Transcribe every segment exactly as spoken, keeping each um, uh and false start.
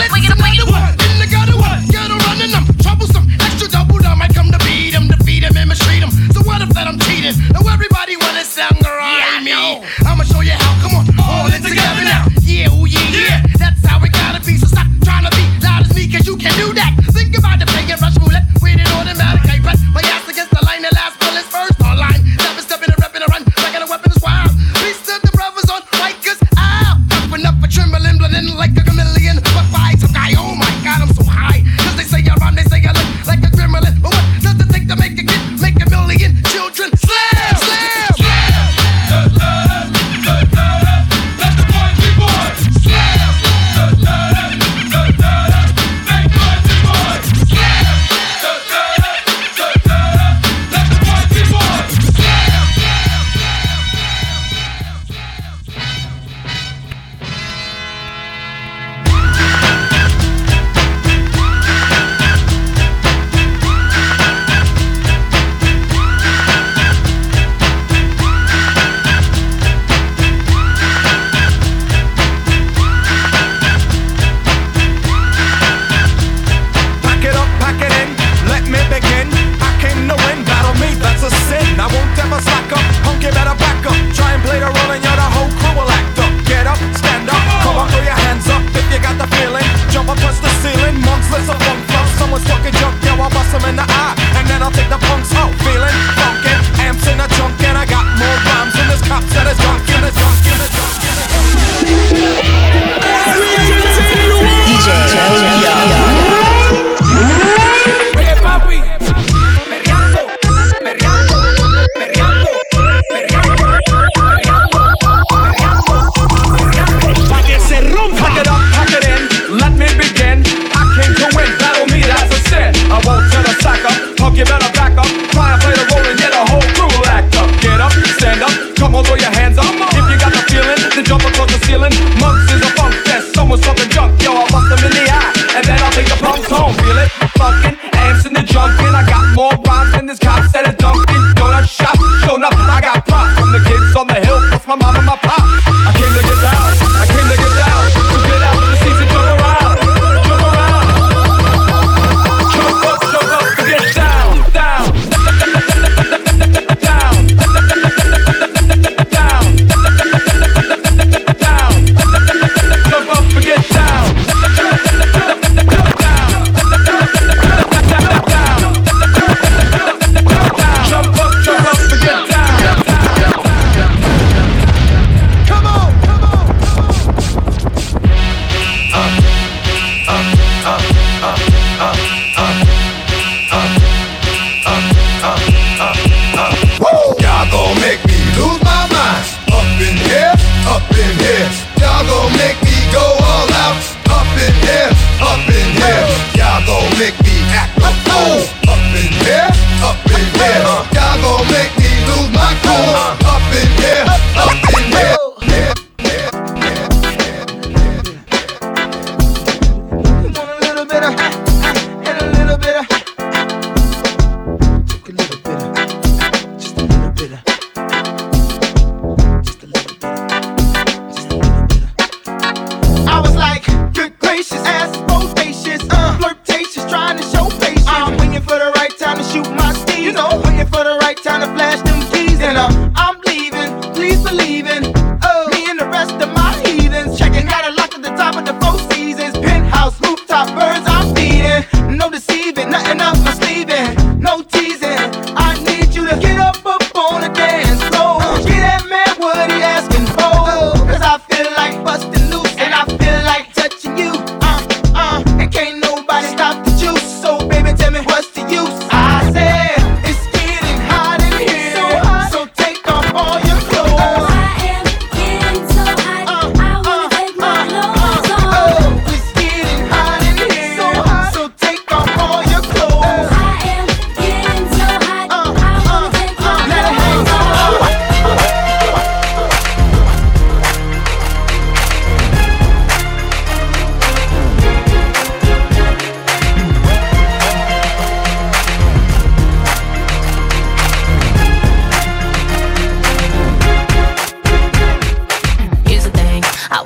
wiggle, wiggle, one. In the gutter one, gutter running them. Troublesome, extra double dumb. I come to beat him, defeat him, and mistreat him. So what if that I'm cheating? Now everybody wanna sound around me. I'ma show you how, come on, all in together now. Yeah, oh yeah, yeah, that's how it gotta be. So stop trying to be loud as me, cause you can do that. Think about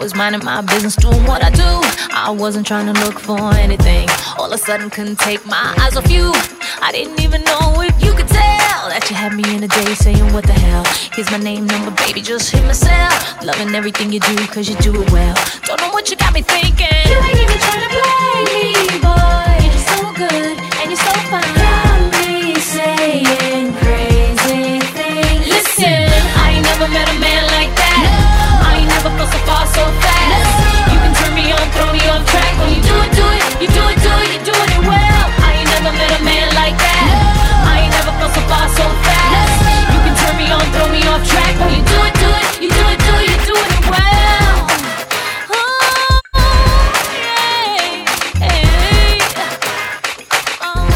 was minding my business, doing what I do. I wasn't trying to look for anything. All of a sudden, couldn't take my eyes off you. I didn't even know if you could tell that you had me in a day saying what the hell. Here's my name, number, baby, just hit my cell. Loving everything you do, cause you do it well. Don't know what you got me thinking. You ain't even trying to play me, boy. You're so good, and you're so fine. Got me saying crazy things. Listen, I ain't never met a man like that. No. I ain't never felt so far, so fast. No. You can turn me on, throw me off track. When you do it, do it, you do it, do it, you're doing it well. I ain't never met a man like that. No. I ain't never felt so far, so fast. No. You can turn me on, throw me off track. When you do it, do it, you do it, do it, you're doing it well. Oh, yeah, hey. Oh.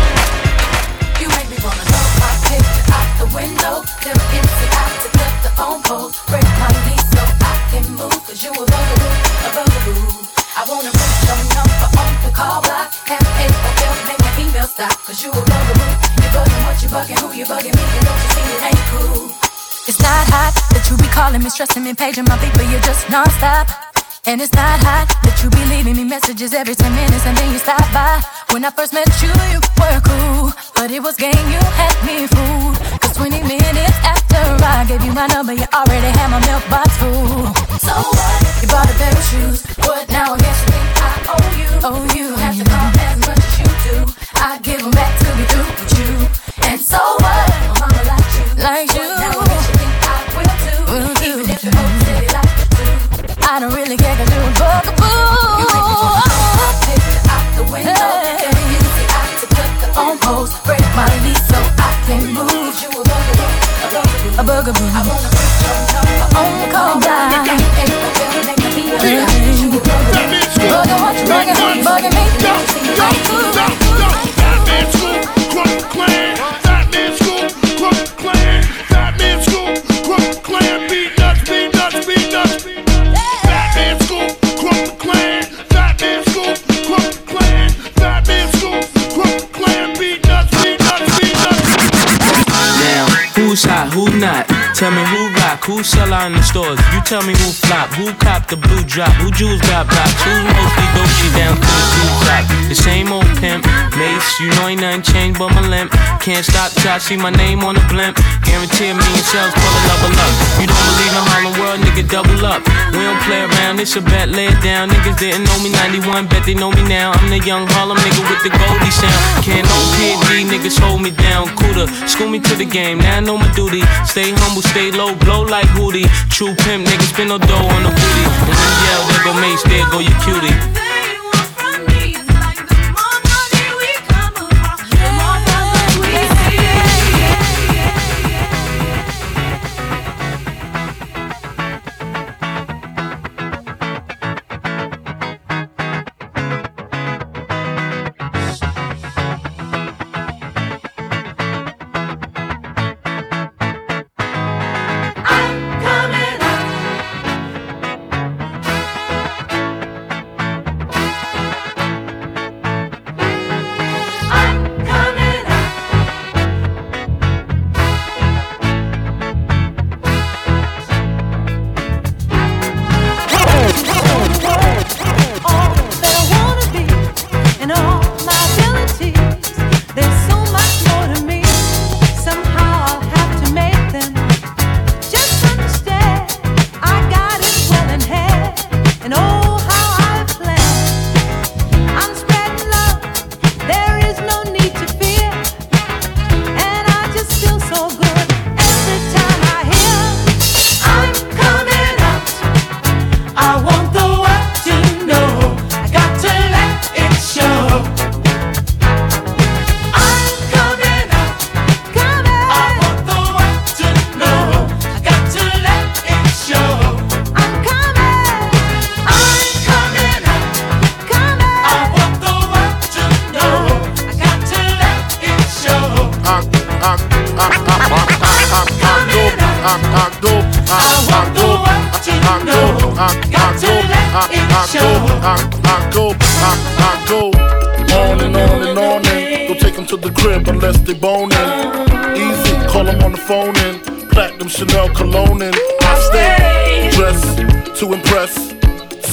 You make me wanna know. I take it out the window. Them empty out to get the phone post. Break my knees so I can move. Cause you a bugaboo, a bugaboo. I wanna put your number on the call block. Have a hotel, make my email stop. Cause you a bugaboo. You bugging what you bugging, who you bugging me. And don't you see it ain't cool. It's not hot that you be calling me, stressing me, paging my beat, but you're just non-stop. And it's not hot that you be leaving me messages every ten minutes and then you stop by. When I first met you, you were cool, but it was game, you had me fooled. Cause twenty minutes after I gave you my number, you already had my mailbox full. So what? You bought a pair of shoes, but now I guess you think I owe you. Oh, you have to call as much as you do. I give them back to be through with you. And so what? My mama liked you, like you. Now I guess you think I will too, will too. Even if you hold steady like you do. I don't really care cause you're a bugaboo. You make me wanna take it out the window. Hey. Very easy out to cut the phone post. Break my lease so I can move. You a bugaboo, a bugaboo, a bugaboo. I wanna put your number on the call block. You got me ain't no bill, make me feel like you a bugaboo. Bugging what you bugging, who you bugging me. Don't you see you ain't cool. Fat Man Scoop, Crook Clan. Fat Man Scoop, Crook Clan. Fat Man Scoop, Crook Clan. Beat nuts, beat nuts, beat nuts. Fat Man Scoop, Crook Clan. Fat Man Scoop, Crook Clan. Fat Man Scoop, Crook Clan. Beat nuts, beat nuts, beat nuts. Now, who's hot, who not? Tell me who rock, who sell out in the stores. You tell me who flop, who cop the blue drop, who jewels got blocks, who's mostly dope down to the blue top. The same old pimp, Mace, you know ain't nothing changed but my limp. Can't stop till I see my name on the blimp. Guarantee a million sales, pull a level up. You don't believe in Harlem World, nigga, double up. We don't play around, it's a bet, lay it down. Niggas didn't know me ninety-one, bet they know me now. I'm the young Harlem nigga with the Goldie sound. Can't no P and D, niggas hold me down. Cooler, school me to the game, now I know my duty. Stay humble, stay low, blow like Hootie. True pimp, niggas spin no dough on the booty. And when you yell, there go Mace, there go your cutie. Unless they boning. Easy, call them on the phone in. Platinum Chanel cologne in. I stay dressed to impress.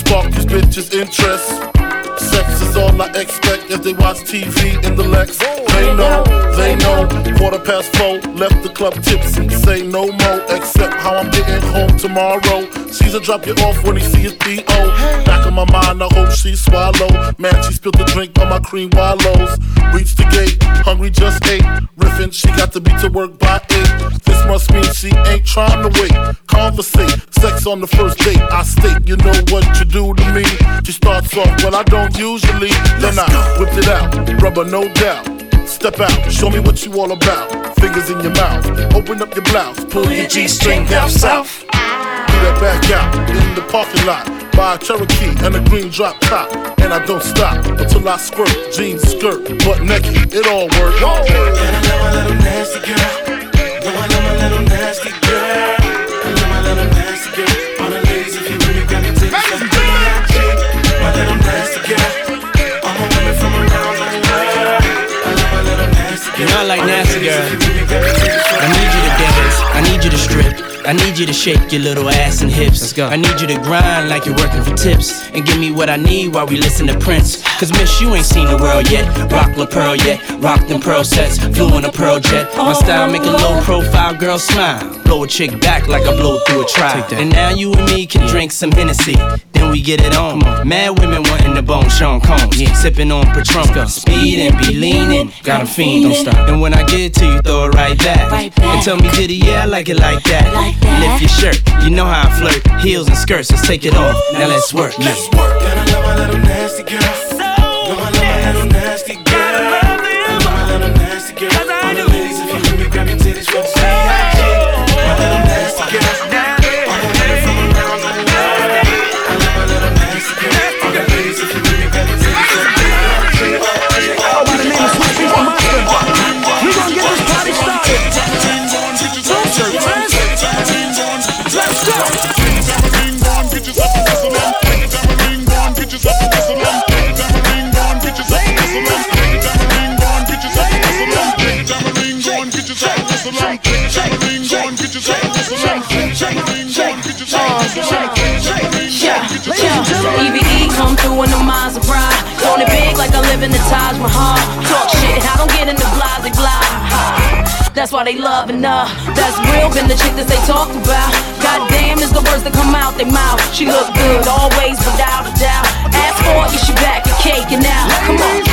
spark these bitches' interest. Sex is all I expect as they watch T V in the Lex. They know, they know. Quarter past four, left the club tipsy. Say no more, except how I'm getting home tomorrow. Caesar drop you off when he see his P O. Back in my mind, I hope she swallow. Man, she spilled the drink on my cream wallows. Reached the gate, hungry just ate. Riffin', she got to be to work by eight. This must mean she ain't trying to wait. Conversate, sex on the first date. I state, you know what you do to me. She starts off, well I don't usually. Then I whipped it out, rubber no doubt. Step out, show me what you all about. Fingers in your mouth, open up your blouse. Pull your G-string down south. Do that back out, in the parking lot. Buy a Cherokee and a green drop top. And I don't stop until I squirt. Jeans, skirt, butt naked, it all works. And I love my little nasty girl. No, I love my little nasty girl. I love my little nasty girl. All the ladies, if you really grab your titties from B I G. My little nasty girl. All my women from around the world. I love my little nasty girl. You know I like nasty girl. I need you to dance, I need you to strip, I need you to shake your little ass and hips. Let's go. I need you to grind like you're working for tips, and give me what I need while we listen to Prince. Cause miss, you ain't seen the world yet. Rock La Pearl yet, rock them pearl sets. Flew in a pearl jet. My style make a low profile girl smile. Blow a chick back like I blow through a trial. And now you and me can drink some Hennessy, then we get it on. Mad women wanting the bone Sean Combs, yeah. Sipping on Patron. Speed and be leaning, got 'em fiending. Don't stop. And when I get it to you, throw it right back, right back. And tell me, did it? Yeah, I like it like that. Like that. Lift your shirt, you know how I flirt. Heels and skirts, let's take it off. Now let's work. Let's work. And I love my little nasty girl. No, I love my little nasty girl. I love my little nasty girl. All the ladies, if you let me grab your titties from B I G. My little nasty girl. All the women from around the world. I love my little nasty girl. All the ladies, if you let me grab your titties from B I G. Oh, by the name of Sweet Pea Monster, we gon' get this party started. Let's go. E V E come through in the Maserati. Throwing it big like I live in the Taj Mahal. Talk shit, I don't get in the blase blah. That's why they loving her. That's real, been the chick that they talk about. Goddamn is the words that come out their mouth. She look good, always without a doubt. Ask for it, you should back your cake and now. Come on.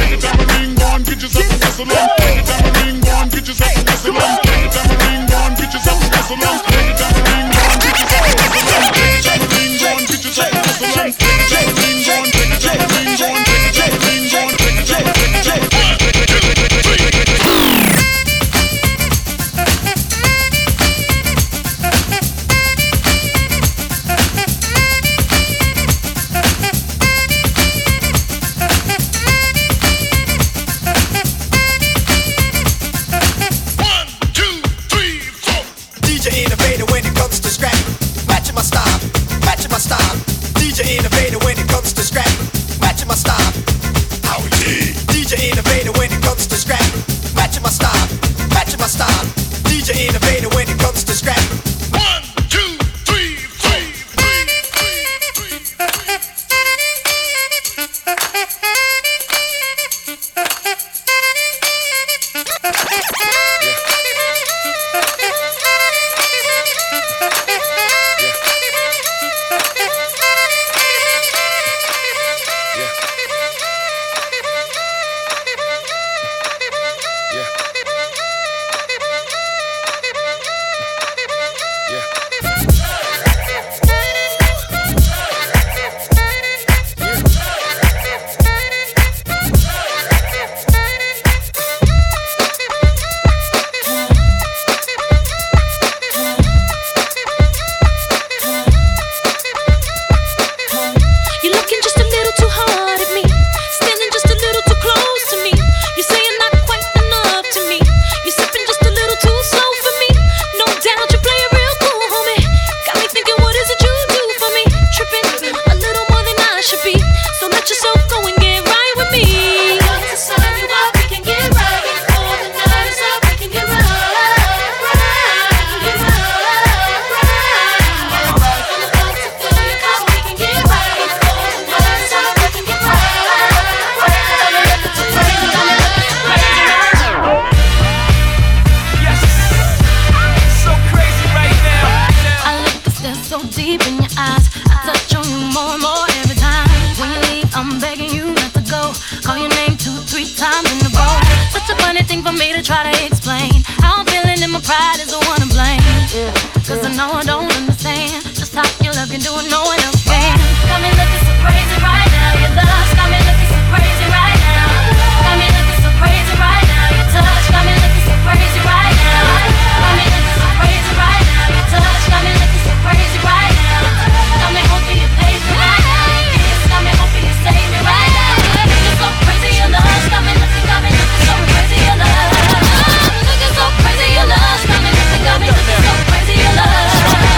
more and more every time. When you leave, I'm begging you not to go. Call your name two, three times in a row. Such a funny thing for me to try to explain. How I'm feeling and my pride is the one to blame. Yeah. Cause I know I don't understand just how your love can do it, no one else can. Got me looking so crazy right now. Your love's got me looking so crazy right now. Got me looking so crazy right now. Your touch got me looking so crazy right now. Got me looking so crazy right now. Your touch got me looking so crazy right now. Got me hoping you pay me right now. Yes, got me hoping you save me right now. Looking so crazy, your love got me looking, got me looking so crazy, your love. Looking so crazy, your love got me looking, got me looking so crazy, your love.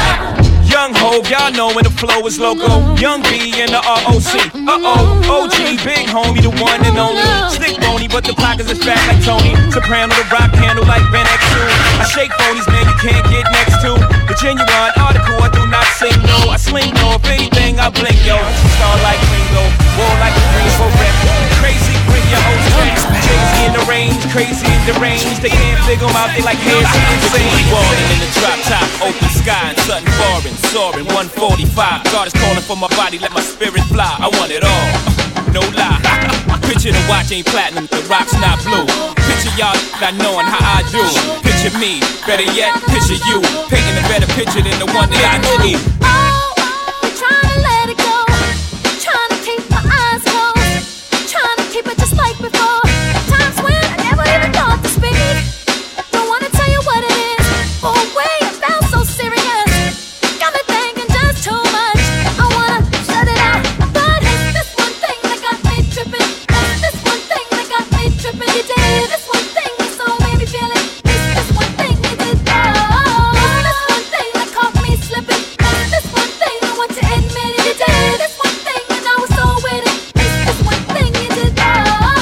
Young Hov, y'all know when the flow is loco. Young B and the R O C. Uh-oh, O G, big homie, the one and only. Stick bony, but the pockets is fat like Tony. Soprano, the rock handle like Ben X two. I shake phonies, man, you can't get next to. The genuine article, I do not sing, no. I sling, no, if anything, I blink, yo. Star like Ringo, war like a rainbow rep. Crazy, bring your whole track. Crazy in the range, crazy in the range. They can't figure them out, they like hazy insane. Ballin' in the drop top, open sky and sudden foreign. Soaring one forty-five, God is calling for my body, let my spirit fly. I want it all, no lie. Picture the watch ain't platinum, the rock's not blue. Picture y'all not knowing how I do. Picture me, better yet, picture you. Painting a better picture than the one that I need. Oh, oh, trying to let it go. Trying to keep my eyes closed. Trying to keep it just like before. Times when I never even thought to speak. Don't wanna tell you what it is. For a way it felt so serious. Got me thinking just too much. I wanna shut it out. But it's this one thing that got me tripping. It's this one thing that got me tripping. You did this one thing that so made me feel it. It's this one thing you did. Oh, it's this one thing that caught me slipping. It's this one thing I want to admit it. You did this one thing and I was so with it. It's this one thing you did. Oh.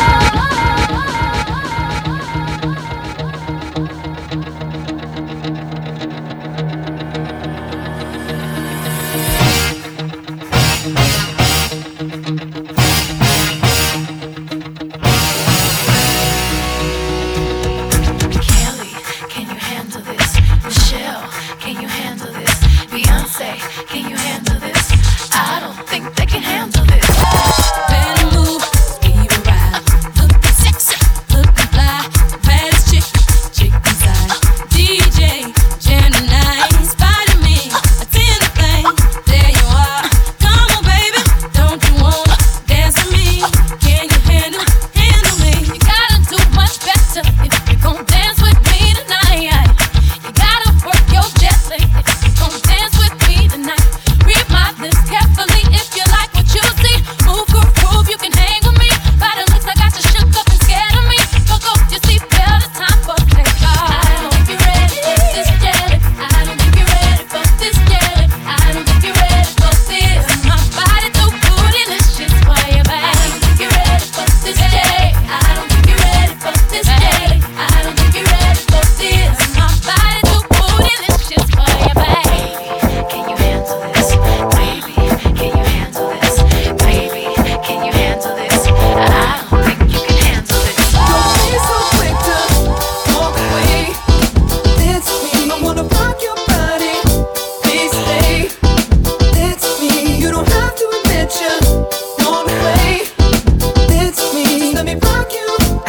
Kelly, can you handle this? Michelle, can you handle this? Beyonce, can you handle this? I don't think they can handle this. Better move, speed around. Looking sexy, looking fly. Baddest chick, chick inside. D J, Gemini, inspired me. Attend the thing, there you are. Come on, baby, don't you wanna dance with me? Can you handle, handle me? You gotta do much better if you gon' dance with me tonight. You gotta work your jelly if you gon' dance with me tonight. Read my lips carefully if you like what you see. Move, groove, groove, you can hang with me. By the looks I got you shook up and scared of me. Fuck off your seatbelt, it's time for takeoff. I don't think you're ready for this jelly. I don't think you're ready for this jelly. I don't think you're ready for this. My body too bootylicious for you, babe. I don't think you're ready for this jelly. I don't think you're ready for this jelly. I don't think you're ready for this. My body too bootylicious for you, babe. Can you handle this? Baby, can you handle this? Baby, can you handle this? I don't think you can handle this. Don't be so quick to walk away. That's me. I wanna rock your body. Please stay. That's me. You don't have to admit you wanna play. That's me. Just let me rock you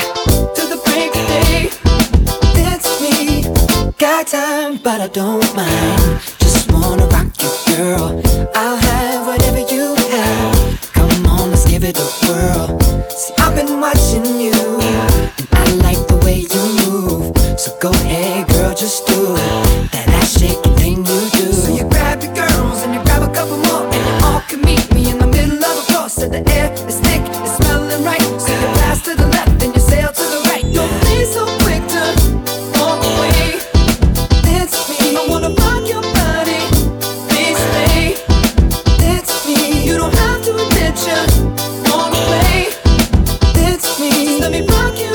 to the break of day. That's me. Got time, but I don't mind. Just wanna rock you, girl. I'll have whatever you have. Come on, let's give it a whirl. See, I've been watching you, and I like the way you move. So go ahead, girl, just do that ass shaking thing you do. So you grab your girls and you grab a couple more, and you all can meet me in the middle of a floor. So the air is thick, it's smelling right. So you pass to the left and you sail to the right. Don't be so quick to walk away. That's me. I wanna rock your body. Please stay. That's me. You don't have to admit you wanna play. That's me. Let me rock you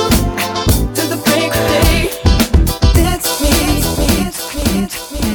to the break of day. That's me. That's me. That's me.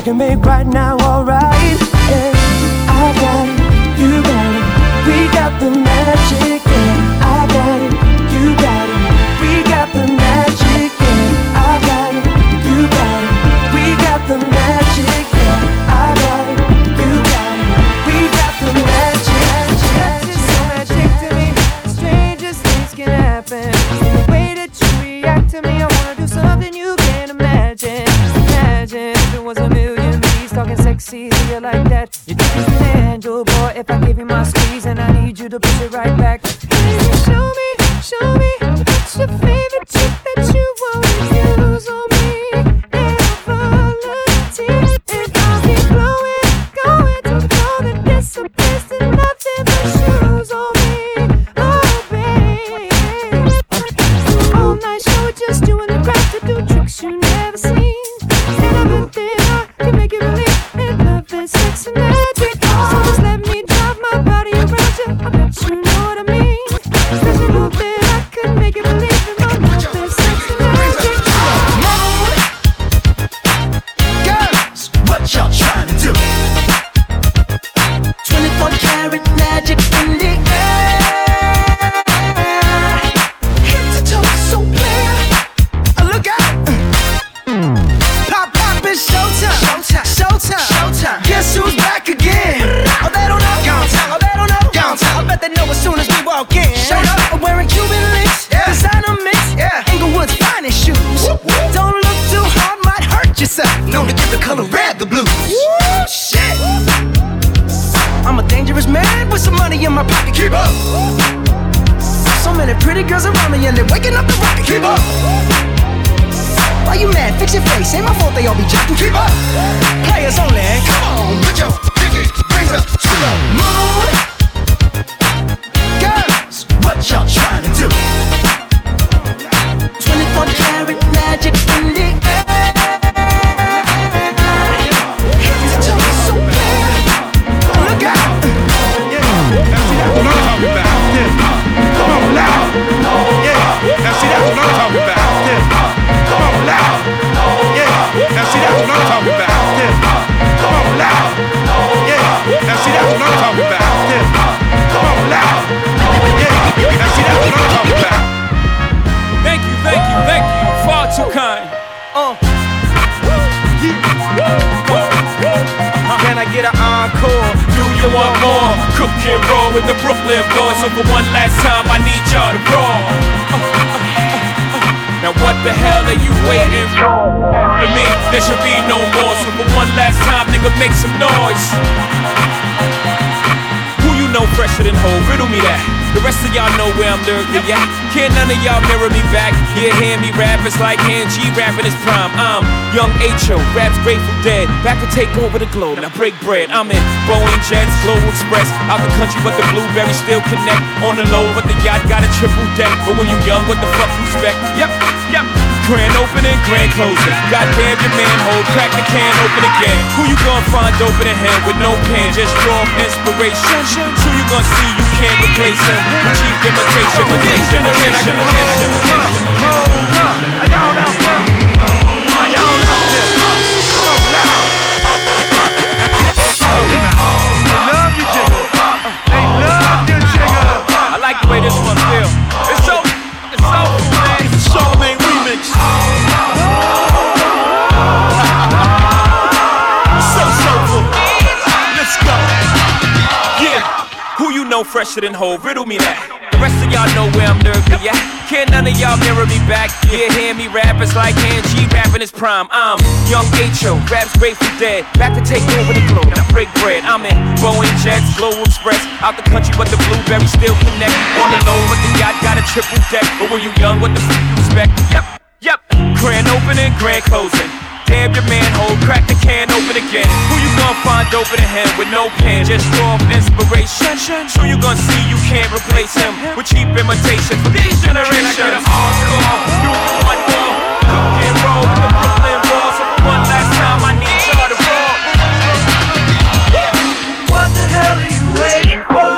can make right now alright. Yeah, I got it, you got it, we got the magic. Yeah, I got it, you got it, we got the magic. Yeah, I got it, you got it, we got the magic. Yeah, I got it, you got it, we got the magic. It's so magic to me, the strangest things can happen. The way that you react to me, I wanna do something you can't imagine. Imagine if it was a million bees talking sexy to you like that. You think it's an angel, boy, if I give you my squeeze and I need you to push it right back. Baby, show me, show me what's your favorite trick that you always use on me. And I'll volunteer and I'll keep blowing, going till the golden disappears to nothing but shoes on me. Oh, baby. All night show with just you and the crowd to do tricks you never seen. And I bet that I can make you believe in love and sex and magic. So just let me drive my body around you. I bet you know what I mean. Cause you know that I could make you believe in my love and sex and magic. Girls, what y'all trying to do? twenty-four karat magic in the air. Head to toe, so clear. Uh, Look out! Pop, pop, it's showtime. Showtime. Showtime. Showtime. Guess who's back again? Oh, they don't know. Gone time. Oh, they don't know. Gone time. I bet they know as soon as we walk in. Showed up. I'm wearing Cuban links. Yeah. Designer mix. Yeah. Inglewood's finest shoes. Whoop, whoop. Don't look too hard, might hurt yourself. Known to give the color red the blues. Woo, shit. I'm a dangerous man with some money in my pocket. Keep up. So many pretty girls around me and they're waking up the rocket. Keep up. Why you mad? Fix your face. Ain't my fault they all be jacking. Keep up. Players only. Come on, put your pinky rings up to the moon. Girls, what y'all trying to do? twenty-four karat magic in the air. Head to toe, so clear. Look out. Now see that's what I'm talking about. Yeah. Come on, loud. Yeah. Now see that's what I'm talking about. Yeah. Come on, loud. Yeah. Now see that's what I'm talking about. Yeah. Come on, loud. Yeah. Now see that's what I'm talking about. Yeah. Come on, loud. Yeah. Now see that's what I'm talking about. Thank you, thank you, thank you. Far too kind. Uh. Can I get an encore? Do you want more? Cook and roll with the Brooklyn boys. So for one last time, I need y'all to roll. Uh, uh, uh, uh. Now what the hell are you waiting for? For me, there should be no more. So for one last time, nigga, make some noise. Who you know fresher than Ho? Riddle me that. The rest of y'all know where I'm lurking, yeah. Can't none of y'all mirror me back. Yeah, hear me rap, it's like Han G rapping his prime. I'm Young H O, raps Grateful Dead. Back to take over the globe, now break bread. I'm in Boeing Jets, Global Express. Out the country, but the blueberries still connect. On the low, but the yacht got a triple deck. But when you young, what the fuck you expect? Yep, yep. Grand opening, grand closing. Goddamn your manhole, crack the can open again. Who you gonna find open in hand with no pen? Just draw inspiration. Who you gonna see you can't replace him? Cheap imitation for this generation. I don't know. I don't know this. Come on, loud. They love you, Jigga. They love you, Jigga. I like the way this one feels. It's so, it's so cool, man. It's a Charlemagne remix. So soulful. Let's go. Yeah. Who you know fresher than Ho? Riddle me that. The rest of y'all know where I'm lurking, yeah. Can't none of y'all mirror me back. Yeah, hear me rap, it's like Han G rapping his prime. I'm Young H O, raps Grateful Dead. Back to take over the globe, now break bread. I'm in Boeing Jets, Global Express. Out the country, but the blueberries still connect. On the low, but the yacht got a triple deck. But when you young, what the f*** you expect? Yep, yep. Grand opening, grand closing. Damn your manhole, crack the can open again. Who you gonna find open in him with no pen? Just draw inspiration. Who you gonna see you can't replace him with cheap imitation for these generations? Can I get an encore? Do one more. Cook and roll with the Brooklyn boys. So for one last time, I need y'all to roll. What the hell are you waiting for?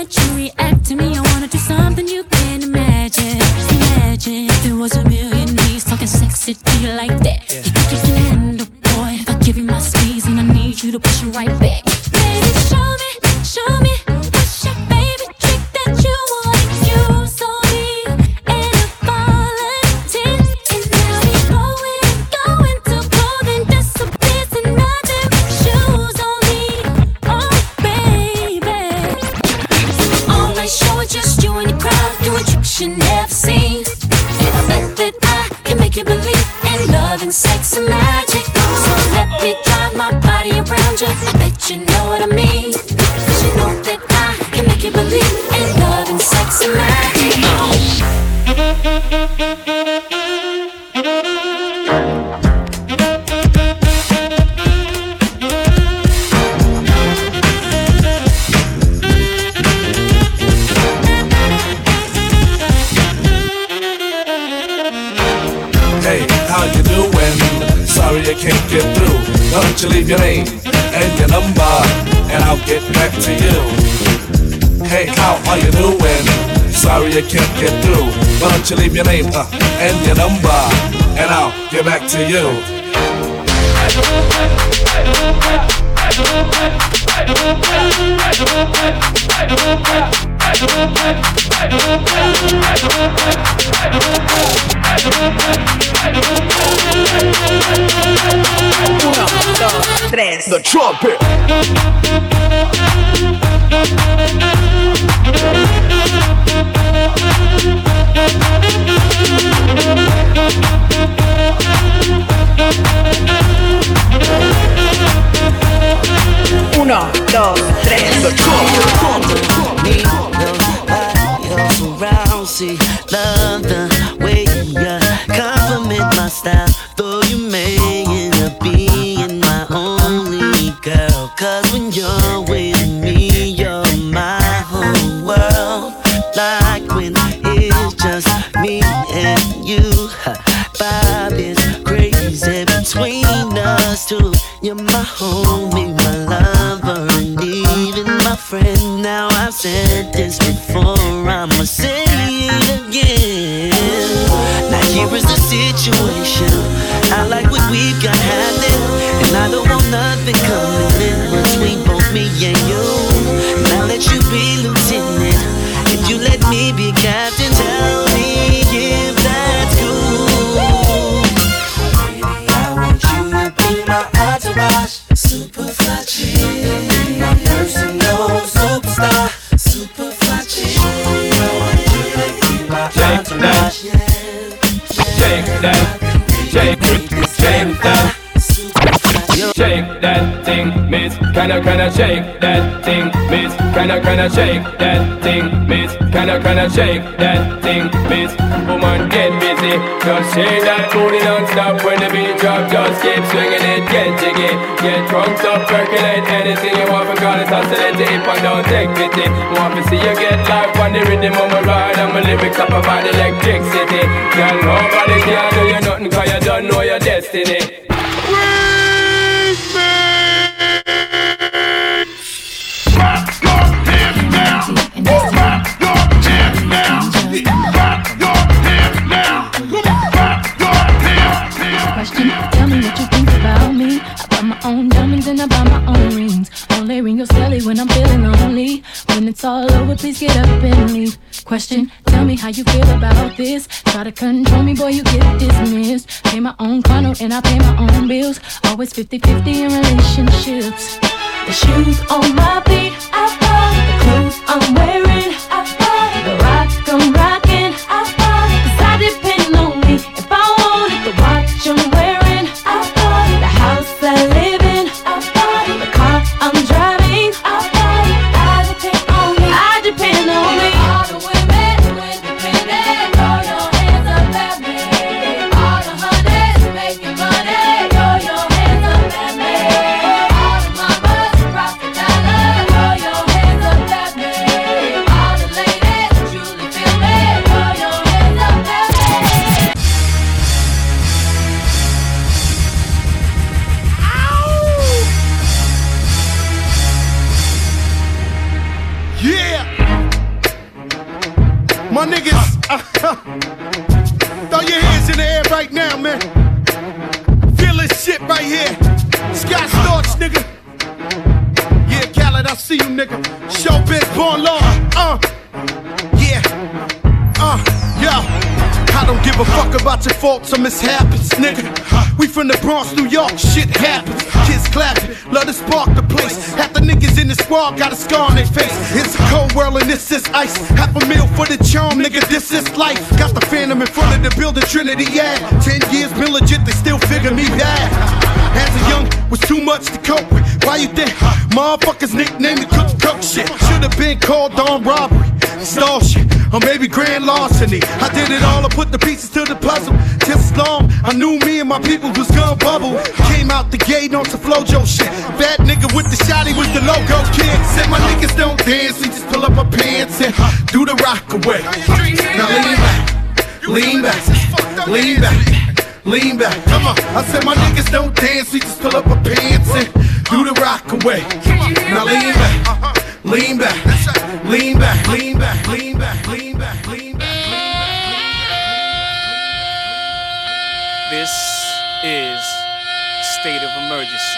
that you react to me. I wanna do something you can't imagine. Imagine if there was a million knees talking sexy to you like that. You think you can handle, boy? If I give you my squeeze and I need you to push it right back. Baby, show me, show me what's your favorite trick that you want to use on me. And if volunteer, and now we going, going to clothing disappears and nothing but shoes on me. Oh, baby. All night show is just you and your crowd doing tricks you never seen. And I bet that I can make you believe in love and sex and magic. So let me drive my body around you. I bet you know what I mean. Cause you know that I can make you believe in love and sex and magic. Hey, how you doing? Sorry I can't get through. Why don't you leave your name and your number, and I'll get back to you. Hey, how are you doing? Sorry I can't get through. Why don't you leave your name uh, and your number, and I'll get back to you. Uno, dos, tres. The trumpet. Uno, dos, tres. The trumpet. Around, see, love the way you compliment my style. Though you may end up being my only girl. Cause when you're with me, you're my whole world. Like when it's just me and you. Vibe is crazy between us two. You're my homie, my lover, and even my friend. Now I've said this before, I'ma say it again. Now here is the situation. I like what we've got happening, and I don't want nothing coming in between both me and you. Now let you be lieutenant, if you let me be captain. Tell me if that's cool. Baby, I want you to be my entourage. Super fly chick, my personal superstar. Super fly chick, I want you to be my entourage. Shake that, shake, shake that. Shake that thing, miss. Kinda, kinda shake that thing, miss. Kinda, kinda shake that thing, miss. Kinda, kinda shake that thing, miss. Woman, get busy. Just shake that booty non-stop when the beat drop. Just keep swinging it, get jiggy. Get drunk up, percolate anything you want. Because it's oscillating if I don't take pity. Want to see you get life on the rhythm of my ride. And my lyrics up about electricity. Girl, nobody can do you nothing cause you don't know your destiny. Question, tell me what you think about me. I buy my own diamonds and I buy my own rings. Only ring your celly when I'm feeling lonely. When it's all over, please get up and leave. Question, tell me how you feel about this. Try to control me, boy, you get dismissed. Pay my own condo and I pay my own bills. Always fifty-fifty in relationships. The shoes on my feet, I buy. The clothes I'm wearing, I buy. The rock I'm rocking, I buy. Cause I depend on me. If I wanted the watch I'm wearing, I buy. The house I live in, I buy. The car I'm driving, I buy. I depend on me. I depend on me. All the women who independent, throw your hands up at me. All the honeys making money, throw your hands up at me. All the mamas rock the dollar, throw your hands up at me. My niggas, uh, throw your hands in the air right now, man. Feel this shit right here. Scott Storch, nigga. Yeah, Khaled, I see you, nigga. Showbiz, born law. Uh, yeah. Uh, yo. I don't give a fuck about your faults or mishaps, nigga. We from the Bronx, New York, shit happens. Kids clapping, love to spark the place. Half the niggas in the squad got a scar on their face. It's a cold world and this is ice. Half a meal for the charm, nigga, this is life. Got the Phantom in front of the building, Trinity, yeah. Ten years been legit, they still figure me bad. As a young, was too much to cope with. Why you think motherfuckers nicknamed me Cook Cook shit? Should've been called armed robbery, stall shit, or maybe grand larceny. I did it all, I put the pieces to the puzzle. Just as long, I knew me and my people was gonna bubble. Came out the gate on some Flojo shit. Bad nigga with the shotty was the logo kid. Said my niggas don't dance, we just pull up our pants and do the rock away. Now lean back, lean back, lean back, lean back. Come on, I said my niggas don't dance, we just pull up our pants and do the rock away. Now lean back, lean back, lean back, lean back, lean back, lean back, lean back. This is state of emergency.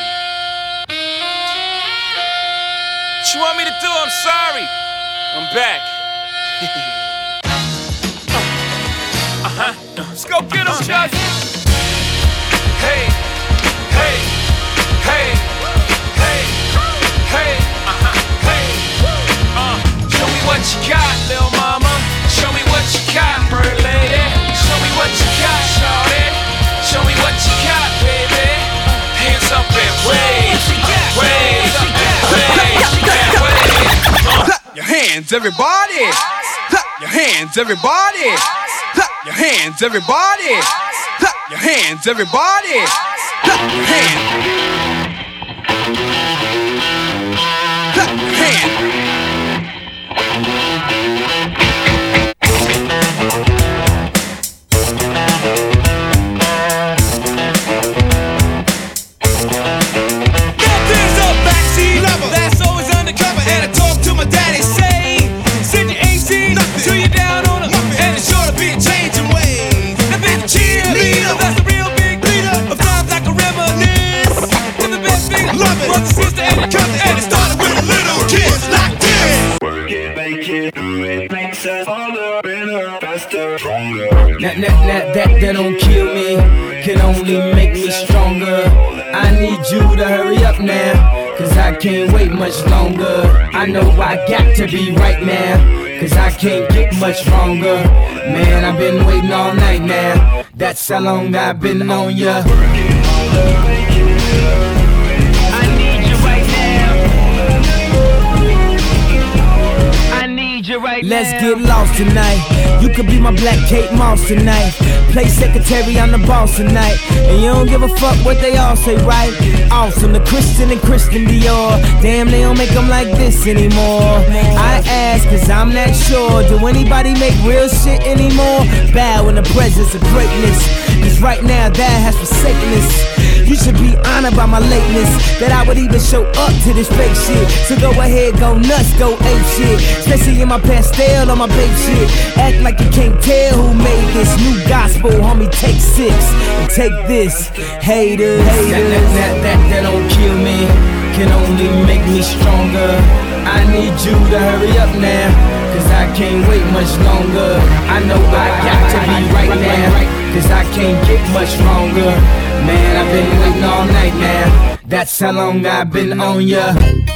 What you want me to do? I'm sorry. I'm back. uh-huh. Let's go get him, Just. Hey, hey, hey, hey, hey, uh-huh, hey. Uh, show me what you got, little mama. Show me what you got, bird lady. Show me what you got, shawty. Show me what you got, baby. Hands up and wave, wave, wave, wave. Your hands, everybody. Your hands, everybody. Your hands, everybody. Your hands, everybody. Your hands. Your hands. That's always undercover, and I talk to my daddy, say, send your A C till you're down on her, and it's sure to be a changing way. The big cheerleader, that's the real big leader of times I can reminisce. And the best thing, love it, brother, sister, and the cousin, and it started with a little kids like this. Work it, make it, do it, makes us harder, better, faster, stronger. That, that, that, that, that don't kill me, can only make me stronger. I need you to hurry up now, cause I can't wait much longer. I know I got to be right now, cause I can't get much longer. Man, I've been waiting all night now, that's how long I've been on ya. I need you right now, I need you right Let's now. get lost tonight. You could be my black Kate Moss tonight. Play secretary, I'm the boss tonight. And you don't give a fuck what they all say, right? Awesome, the Christian and Christian Dior. Damn, they don't make them like this anymore. I ask, cause I'm not sure. Do anybody make real shit anymore? Bow in the presence of greatness, cause right now that has forsaken us. You should be honored by my lateness, that I would even show up to this fake shit. So go ahead, go nuts, go ape shit. Especially in my pastel on my babe shit. Act like you can't tell who made this new gospel, homie. Take six and take this, haters. haters. That, that, that, that, that don't kill me, can only make me stronger. I need you to hurry up now, cause I can't wait much longer. I know I got to be right now, cause I can't get much longer. Man, I've been waiting all night now, that's how long I've been on ya.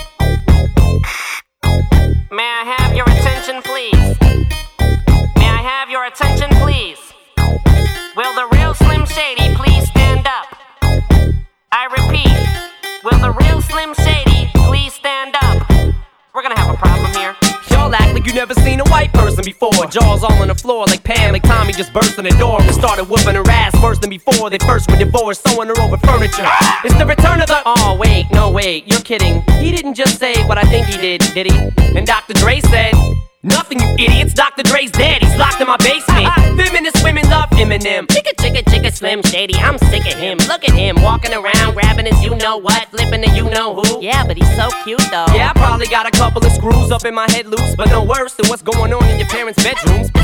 May I have your attention, please? May I have your attention, please? Will the real Slim Shady please stand up? I repeat, will the real Slim Shady please stand up? We're gonna have a problem here. Y'all act like you never seen a white person before. Jaws all on the floor like Pam, like Tommy just burst in the door and started whooping her ass worse than before. They first were divorced, sewing her over furniture. It's the return of the... Oh, wait, no, wait, you're kidding. He didn't just say what I think he did, did he? And Doctor Dre said... Nothing, you idiots. Doctor Dre's dead. He's locked in my basement. Feminist women love Eminem. Chicka, chicka, chicka, Slim Shady. I'm sick of him. Look at him walking around, grabbing his you know what, flipping the you know who. Yeah, but he's so cute though. Yeah, I probably got a couple of screws up in my head loose, but no worse than what's going on in your parents' bedrooms.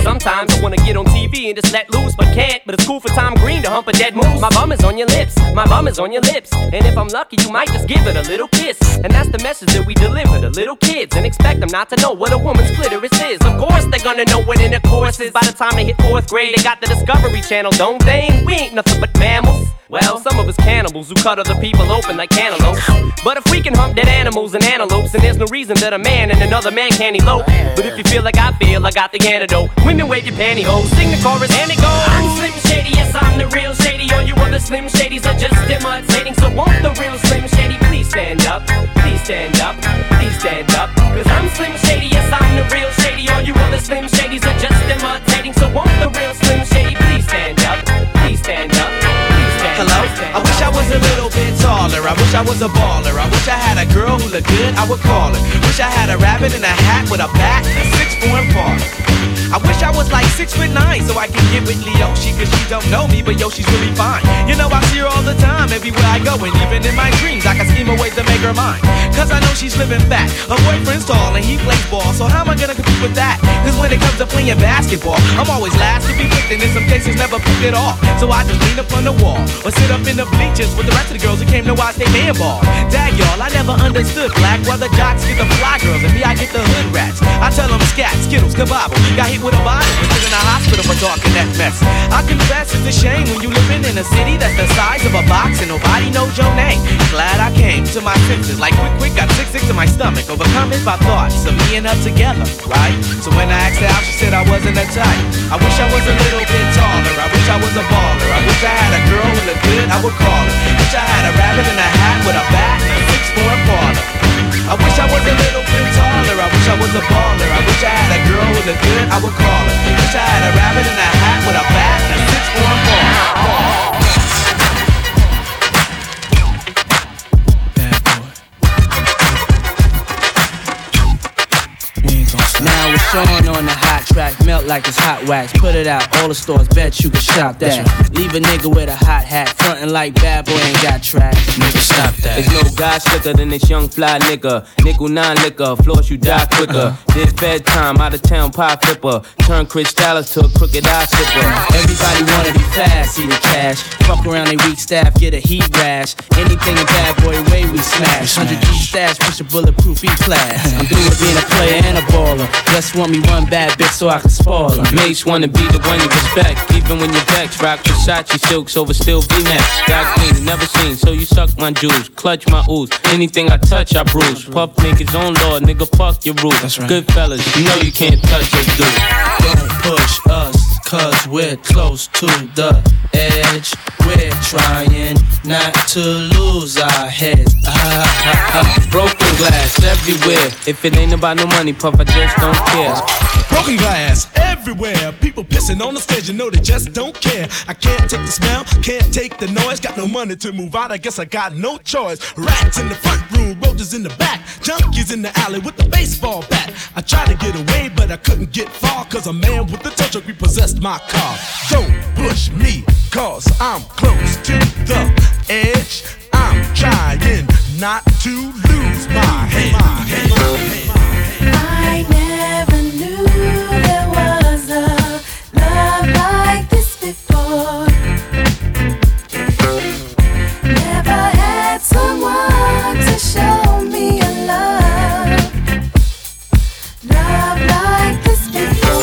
Sometimes I wanna get on T V and just let loose, but can't. But it's cool for Tom Green to hump a dead moose. My bum is on your lips, my bum is on your lips. And if I'm lucky, you might just give it a little kiss. And that's the message that we deliver to little kids, and expect them not to know what a woman's clitoris is. Of course they're gonna know what intercourse is. By the time they hit fourth grade, they got the Discovery Channel, don't they? We ain't nothing but mammals. Well, some of us cannibals who cut other people open like cantaloupes. But if we can hump dead animals and antelopes, then there's no reason that a man and another man can't elope. But if you feel like I feel, I got the antidote. Women wave your pantyhose, sing the chorus and it goes. I'm Slim Shady, yes I'm the real Shady. All you other Slim Shadys are just imitating. So won't the real Slim Shady please stand up? Please stand up, please stand up. Cause I'm Slim Shady, yes I'm the real Shady. All you other Slim Shadys are just imitating. So won't the real Slim Shady please stand up? Please stand up. Hello? I wish I was a little bit taller. I wish I was a baller. I wish I had a girl who looked good, I would call her. Wish I had a rabbit in a hat with a bat and a six form parlor. I wish I was like six foot nine so I could get with Leoshi, cause she don't know me, but yo, she's really fine. You know I see her all the time, everywhere I go, and even in my dreams I can scheme a way to make her mine. Cause I know she's living fat, her boyfriend's tall and he plays ball, so how am I gonna compete with that? Cause when it comes to playing basketball, I'm always last to be picked, and in some cases never picked it off. So I just lean up on the wall, or sit up in the bleachers with the rest of the girls who came to watch they man ball. Dag y'all, I never understood black, while the jocks get the fly girls, and me I get the hood rats. I tell them scat, skittles, kabobble, got hit with a bottle, and put in a hospital for talking that mess. I confess it's a shame when you living in a city that's the size of a box and nobody knows your name. Glad I came to my senses, like quick quick, got sick sick to my stomach, overcome it by thoughts of me and her together, right? So when I asked her out, she said I wasn't a type. I wish I was a little bit taller, I wish I was a baller, I wish I had a girl who looked good, I would call her. Wish I had a rabbit in a hat with a bat and a six form parlor. I wish I was a little bit taller, I wish I was a baller, I wish I had a girl who looked good, I would call her. Wish I had a rabbit in a hat with a bat and a six form parlor. Now it's Sean on the hot track, melt like it's hot wax. Put it out, all the stores, bet you can shop that. Leave a nigga with a hot hat, frontin' like bad boy ain't got track. Nigga, stop that. There's no guy slicker than this young fly nigga. Nickel nine liquor, floss you die quicker. This bedtime, out of town pie flipper. Turn Chris Dallas to a crooked eye slipper. Everybody wanna be fast, see the cash. Fuck around they weak staff, get a heat rash. Anything a bad boy way we smash. Hundred G stash, push a bulletproof E-class. I'm through with being a player and a baller. Just want me one bad bitch so I can spoil her. Mates wanna be the one you respect, even when you're vexed. Rock Versace silks over still V-Max. Got clean, never seen, so you suck my juice, clutch my ooze. Anything I touch, I bruise. Puff niggas on law, nigga, fuck your rules. That's right. Good fellas, you know you can't touch us, dude. Don't push us, cause we're close to the edge. We're trying not to lose our heads. Ah, ah, ah. Broken glass everywhere. If it ain't about no money, Puff, I just don't care. Broken glass everywhere. People pissing on the stage, you know they just don't care. I can't take the smell, can't take the noise. Got no money to move out, I guess I got no choice. Rats in the front room, roaches in the back. Junkies in the alley with the baseball bat. I tried to get away, but I couldn't get far. Cause a man with the tow truck repossessed my car. Don't push me, cause I'm close to the edge. I'm trying not to lose my head. My head, my head. I never knew there was a love like this before. Never had someone to show me a love, love like this before.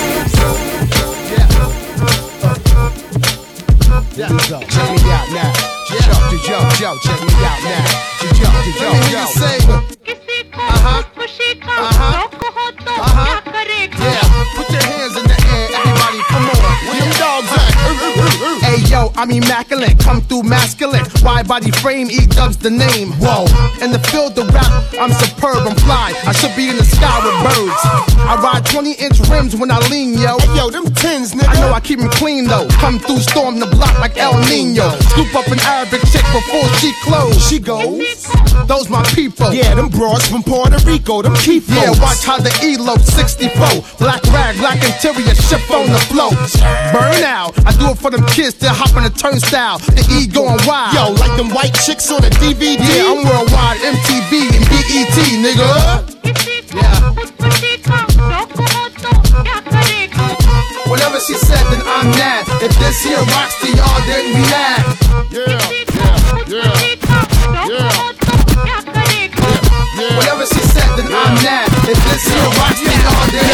Yeah. Yo, check me out now. Yo, yo, yo, check me out now. Yo, yo, yo, yo. Uh-huh. Uh-huh. Uh-huh. Yeah. Put your hands in the air, everybody. Come on. Where them dogs at? Hey, yo, I'm immaculate. Come through masculine. Wide body frame, E-Dub's the name. Whoa. In the field of rap, I'm superb, I'm fly. I should be in the sky with birds. I ride twenty inch rims when I lean, yo. Hey, yo, them tins, nigga. I know I keep them clean, though. Come through, storm the block like El Nino. Scoop up an Arabic chick before she close. She goes, those my people. Yeah, them broads from Puerto Rico, them keep Yeah, watch how the E-Lo sixty-four. Black rag, black interior, ship on the flow. Burn out. I do it for them kids that hop on the turnstile. The E going wild. Yo, like them white chicks on the D V D. Yeah, I'm worldwide, M T V and B E T, nigga. Yeah. Well, If this here rocks to y'all, then we laugh. Yeah, yeah, yeah, yeah. Whatever she said, then I'm that. If this here rocks to y'all, then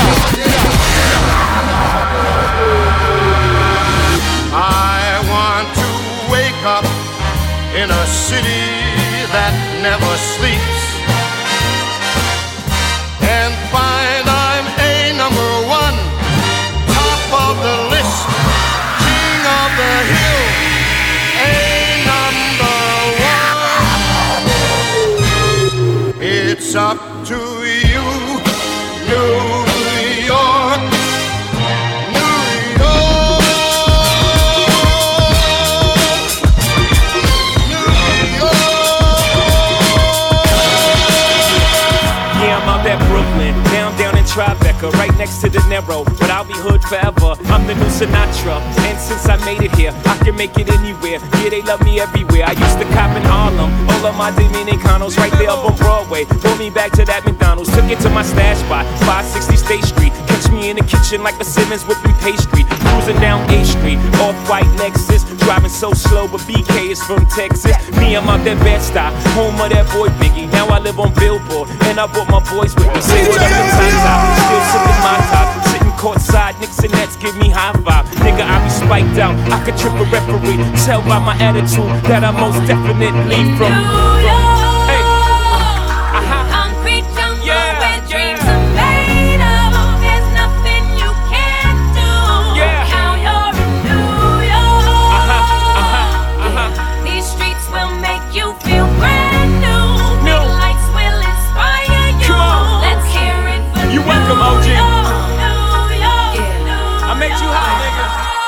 I want to wake up in a city that never sleeps and find I'm a number one, top of the list, king of the hill, a number one. It's up to you, New York, New York, New York. Yeah, I'm out at Brooklyn, now I'm down in Tribeca, right next to De Niro, but I'll be hood forever. I'm the new Sinatra, and since I made it here, I can make it anywhere. Yeah, they love me everywhere. I used to cop in Harlem, all of my Dominicanos right there up on Broadway. Pulled me back to that McDonald's, took it to my stash spot, five sixty State Street. Catch me in the kitchen like a Simmons whipping pastry, cruising down A Street, off-white Lexus, driving so slow, but B K is from Texas. Me, I'm out that Bed-Stuy, home of that boy Biggie. Now I live on Billboard, and I brought my boys with me. Say what up in Tata, still sipping my top, sitting courtside, Knicks and Nets give me high five. Nigga, I be spiked out, I could trip a referee. Tell by my attitude that I most definitely from. Hey, uh-huh. Concrete jungle where dreams are made of. There's nothing you can't do. Yeah. Now you're in New York. Uh-huh, uh-huh, uh-huh. These streets will make you feel brand new. New. Big lights will inspire you. Come on. Let's hear it for You New welcome, O G. York, New York, I made you high, nigga.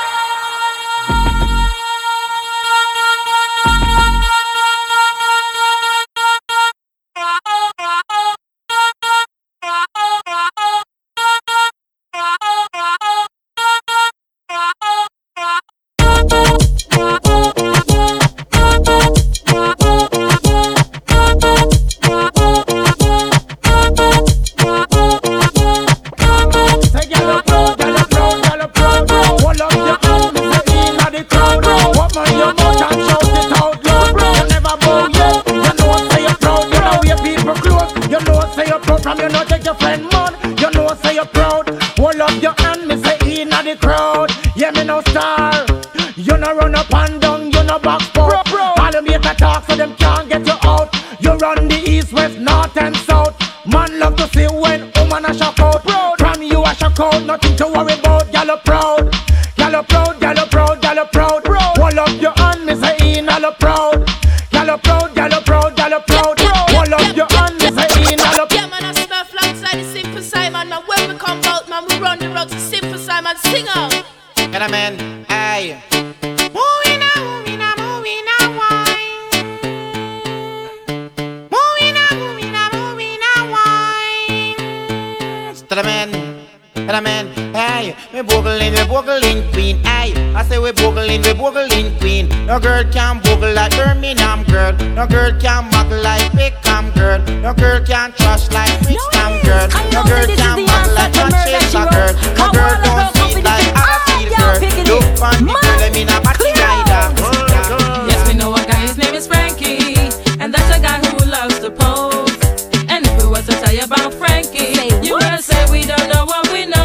No girl can boogle like Birmingham girl. No girl can muggle like Pickham girl. No girl can trash like Brixton girl. No girl can muggle like Manchester girl. No girl don't see like Arapil girl. Look on the girl, I mean a batty rider. Yes, we know a guy, his name is Frankie, and that's a guy who loves to pose. And if we was to tell you about Frankie, you will say we don't know what we know.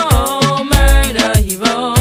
Murder heroes.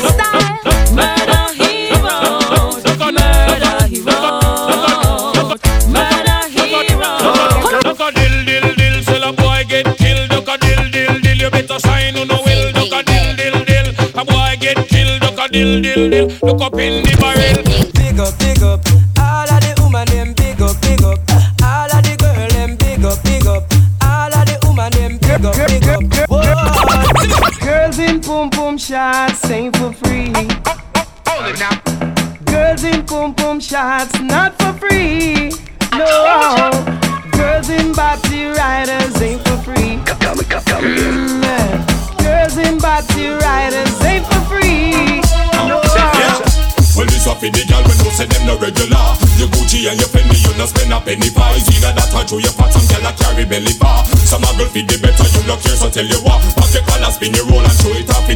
Murder heroes. Murder heroes. Murder heroes. Duck a dill dill dill, till a boy get killed. Duck a dill dill dill, you better sign on no will. Duck a dill dill dill, a boy get killed. Duck a dill dill dill, look up in the barrel. Big up, big up, all of the woman them big up, big up. All of the girl them big up, big up. All of the woman them big up, big up. Whoa. Girls in pum pum shots ain't for free. Hold it now. Girls in pum pum shots not for free. No. Girls in body riders ain't for free. Come, come, come again. Mm, girls in body riders ain't for free. No. Well, this up in the girl when you say them no regular. Your Gucci and your Fendi, you no spend a penny for. It's either that or through your pot, some girl a carry belly bar. Some a girl feed the better, you look here, so tell you what. Pop your collar, spin your roll and throw it up in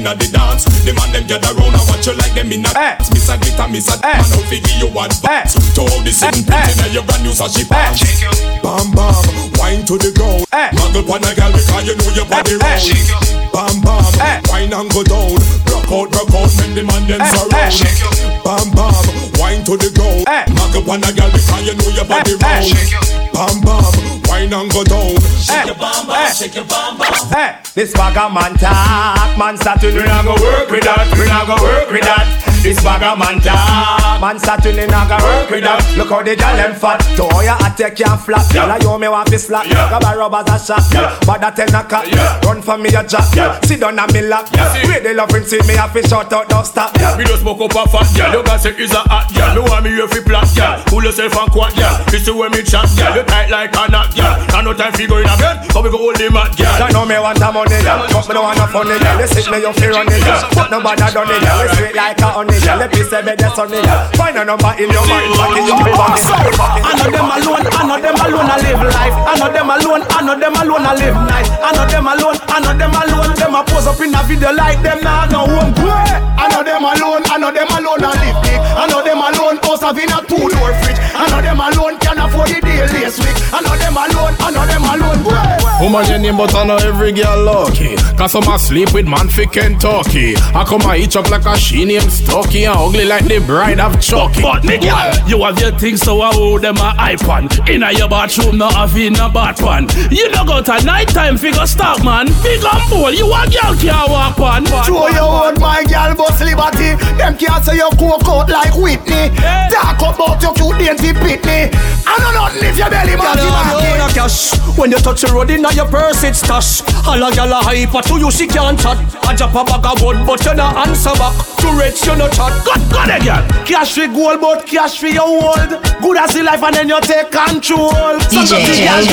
inna the dance. The man them gather round and watch you like them inna dance. Miss a glitter, miss a man out fi give you advance. To all the sitting pretty now your brand new sashi pants. Bam bam, wine to the ground. Muggle pon a girl because you know your body round. Bam bam, wine and go down. Rock out, rock out, make the man them surround. Bam bam, wine to the ground. Muggle pon a girl because you know your body round. Bam bam, wine and go down. Shake your bam bam, shake your bam bam. This bag of man talk, man Saturn, we not go work with that, we not go work with that. This bag of man talk, man Saturn, we not go work with that. Look how the girl them fat, to all your attack can't flap. Girl, I you me want to slap, grab a rubbers a shot. But that ten a cut, run for me a jack. Sit down and me lap, where the loving see me have to shout out, don't stop. Me just smoke up a fat, girl, you can say it's a hot, girl. Me want me here fi plat, girl. Pull yourself and quat, girl. This is where me chat, girl. You tight like a knot, girl. And no time fi go in a bed, so we go hold the mat, girl. I know me want a money, girl. But me don't want no funny, girl. You sit me, you feel running, girl. But nobody done it, girl. You sweet like a honey, girl. Let me say me that's sunny, girl. Find a number in your mind, fuck it, you be funny. I know them alone, I know them alone, I live life. I know them alone, I know them alone, I live nice. I know them alone, I know them alone. Them a pose up in a video like them now no home. I know them alone, I know them alone, I live big. I know them alone, house have in a two-door fridge. I know them alone, can afford the deal this week. I know them alone, I know them alone. Woman your name but I know every girl lucky. Cause some a sleep with man fi Kentucky. I come a eat up like a she named Stucky and ugly like the bride of Chucky. But me girl, you have your things so I hold them a iPhone. Inna your bathroom no have in a bath pan. You no go to night time figure stop man. Big and bold, you a girl can't walk on. Show your own my girl boss liberty. Them can't say you coke out like Whitney. Talk about your cute dainty pitney. I know nothing if your belly man is cash. When you touch the road in your purse it's stash. All a gal a hyper to you she can't chat. I drop a bag of wood but you no answer back. Too rich you no chat. God God again. Cash for gold but cash for your world. Good as the life and then you take control. D J J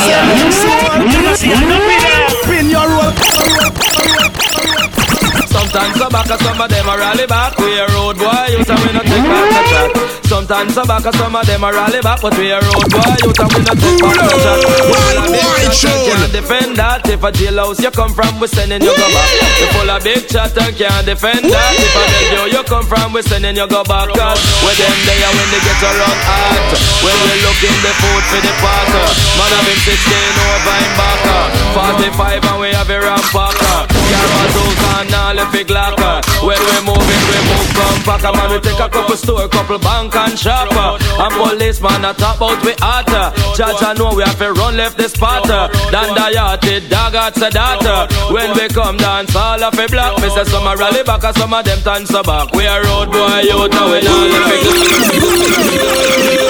Spin your roll. Sometimes some back, some of them a rally back. We a road boy, you say we no take back the chat. Sometimes some back, some of them a rally back, but we a road boy, you say we no take back the chat. Well, a big chat can't defend that. If a jailhouse you come from, we sending you go back. You full of big chat and can't defend that. If a radio you come from, we sending you go back. Cause when them there when they get around hot, when we looking the food for the parker. Man have him sixteen over in backer, forty-five and we have a ramp packer. Carbazoos and all the big locker. When we moving, we move from packer. Man, we take a couple store, couple bank and shopper. And policeman a top out we hotter. Judge I know we have to run left the spotter. Dan the yachty, dog at the data. When we come dance, all of a block. Me say some a rally back and some of them dance back. We a road boy, you know we all the big